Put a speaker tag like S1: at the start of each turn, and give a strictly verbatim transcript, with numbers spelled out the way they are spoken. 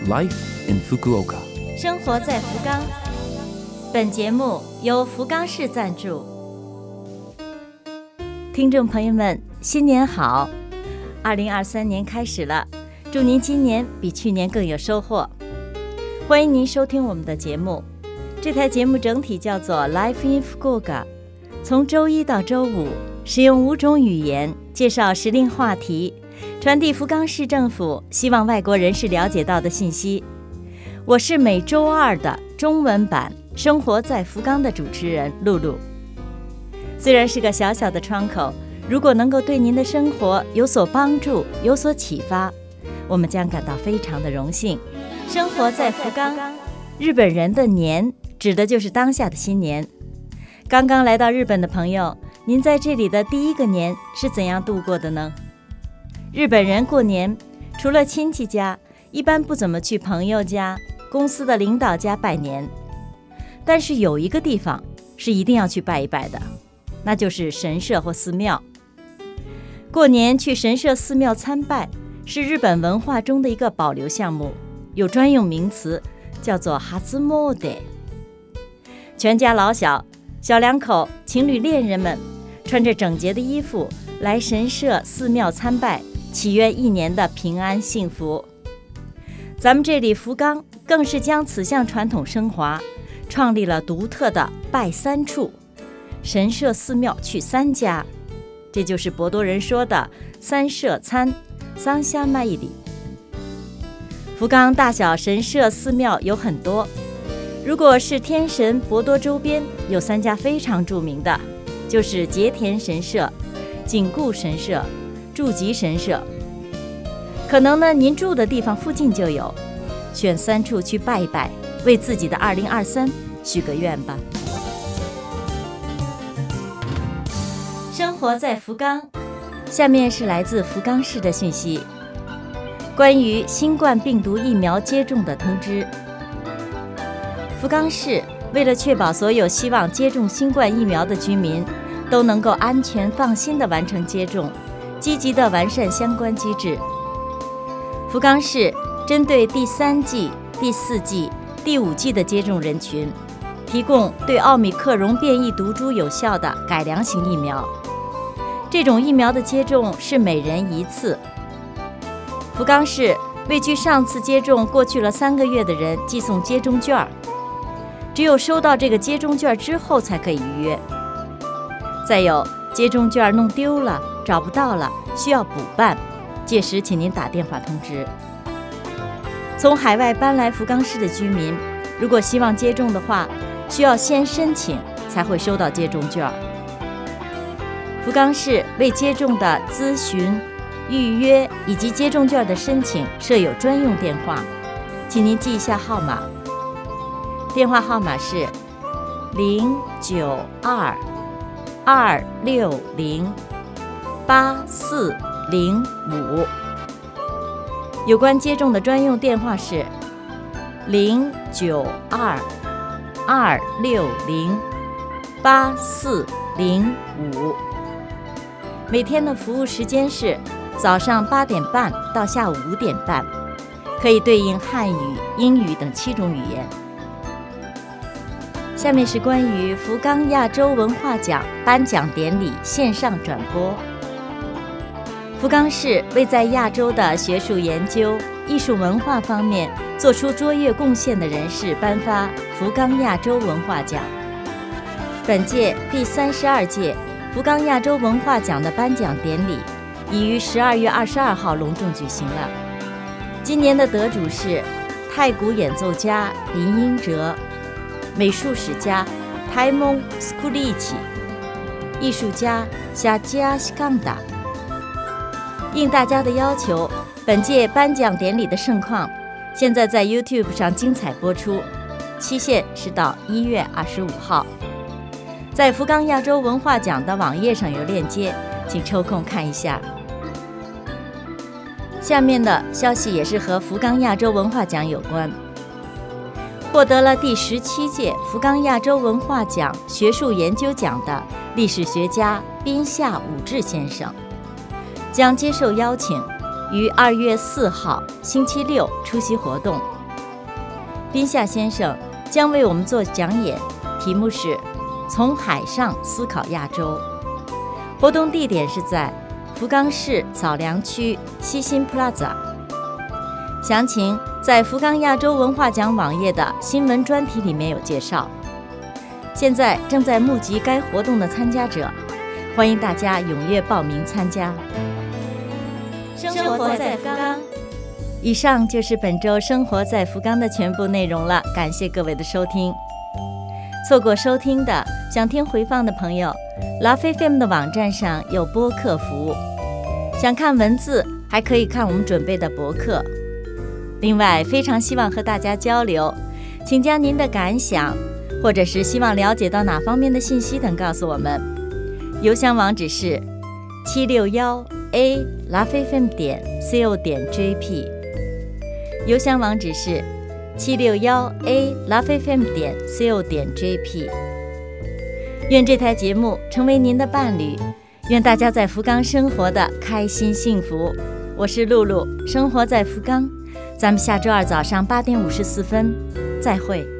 S1: Life in Fukuoka，
S2: 生活在福冈。本节目由福冈市赞助。听众朋友们，新年好！二零二三年开始了，祝您今年比去年更有收获。欢迎您收听我们的节目。这台节目整体叫做 Life in Fukuoka， 从周一到周五，使用五种语言介绍时令话题，传递福冈市政府希望外国人士了解到的信息。我是每周二的中文版《生活在福冈》的主持人露露。虽然是个小小的窗口，如果能够对您的生活有所帮助、有所启发，我们将感到非常的荣幸。生活在福冈，日本人的年指的就是当下的新年。刚刚来到日本的朋友，您在这里的第一个年是怎样度过的呢？日本人过年除了亲戚家，一般不怎么去朋友家、公司的领导家拜年，但是有一个地方是一定要去拜一拜的，那就是神社或寺庙。过年去神社寺庙参拜是日本文化中的一个保留项目，有专用名词叫做初詣。全家老小、小两口、情侣恋人们穿着整洁的衣服来神社寺庙参拜，祈愿一年的平安幸福。咱们这里福冈更是将此项传统升华，创立了独特的拜三处，神社寺庙去三家，这就是博多人说的三社参桑下麦里。福冈大小神社寺庙有很多，如果是天神博多周边，有三家非常著名的，就是结田神社、景固神社、筑吉神社。可能呢，您住的地方附近就有，选三处去拜一拜，为自己的二零二三许个愿吧。生活在福冈，下面是来自福冈市的讯息，关于新冠病毒疫苗接种的通知。福冈市为了确保所有希望接种新冠疫苗的居民都能够安全放心地完成接种，积极地完善相关机制。福冈市针对第三剂、第四剂、第五剂的接种人群，提供对奥密克戎变异毒株有效的改良型疫苗。这种疫苗的接种是每人一次。福冈市为距上次接种过去了三个月的人寄送接种券，只有收到这个接种券之后才可以预约。再有，接种券弄丢了、找不到了，需要补办，届时请您打电话通知。从海外搬来福冈市的居民，如果希望接种的话，需要先申请才会收到接种券。福冈市为接种的咨询、预约以及接种券的申请设有专用电话，请您记一下号码。电话号码是零九二二六零八四零五。有关接种的专用电话是零九二二六零八四零五。每天的服务时间是早上八点半到下午五点半，可以对应汉语、英语等七种语言。下面是关于福冈亚洲文化奖颁奖典礼线上转播。福冈市为在亚洲的学术研究、艺术文化方面做出卓越贡献的人士颁发福冈亚洲文化奖。本届第三十二届福冈亚洲文化奖的颁奖典礼已于十二月二十二号隆重举行了。今年的得主是太鼓演奏家林英哲、美术史家台蒙斯库利奇、艺术家夏加西康达。应大家的要求，本届颁奖典礼的盛况现在在 YouTube 上精彩播出，期限是到一月二十五号。在福冈亚洲文化奖的网页上有链接，请抽空看一下。下面的消息也是和福冈亚洲文化奖有关。获得了第十七届福冈亚洲文化奖学术研究奖的历史学家滨下武志先生将接受邀请， 于二月四号星期六出席活动。宾夏先生将为我们做讲演，题目是从海上思考亚洲。活动地点是在福冈市草良区西新 Plaza。 详情在福冈亚洲文化奖网页的新闻专题里面有介绍。现在正在募集该活动的参加者，欢迎大家踊跃报名参加。生活在福冈。以上就是本周生活在福冈的全部内容了，感谢各位的收听。错过收听的，想听回放的朋友， Love F M 的网站上有播客服务，想看文字还可以看我们准备的博客。另外非常希望和大家交流，请将您的感想或者是希望了解到哪方面的信息等告诉我们。邮箱网址是七六一 a love f m 点 co 点 jp， 邮箱网址是七六一 a love f m 点 co 点 jp。 愿这台节目成为您的伴侣，愿大家在福冈生活的开心幸福。我是露露，生活在福冈，咱们下周二早上八点五十四分再会。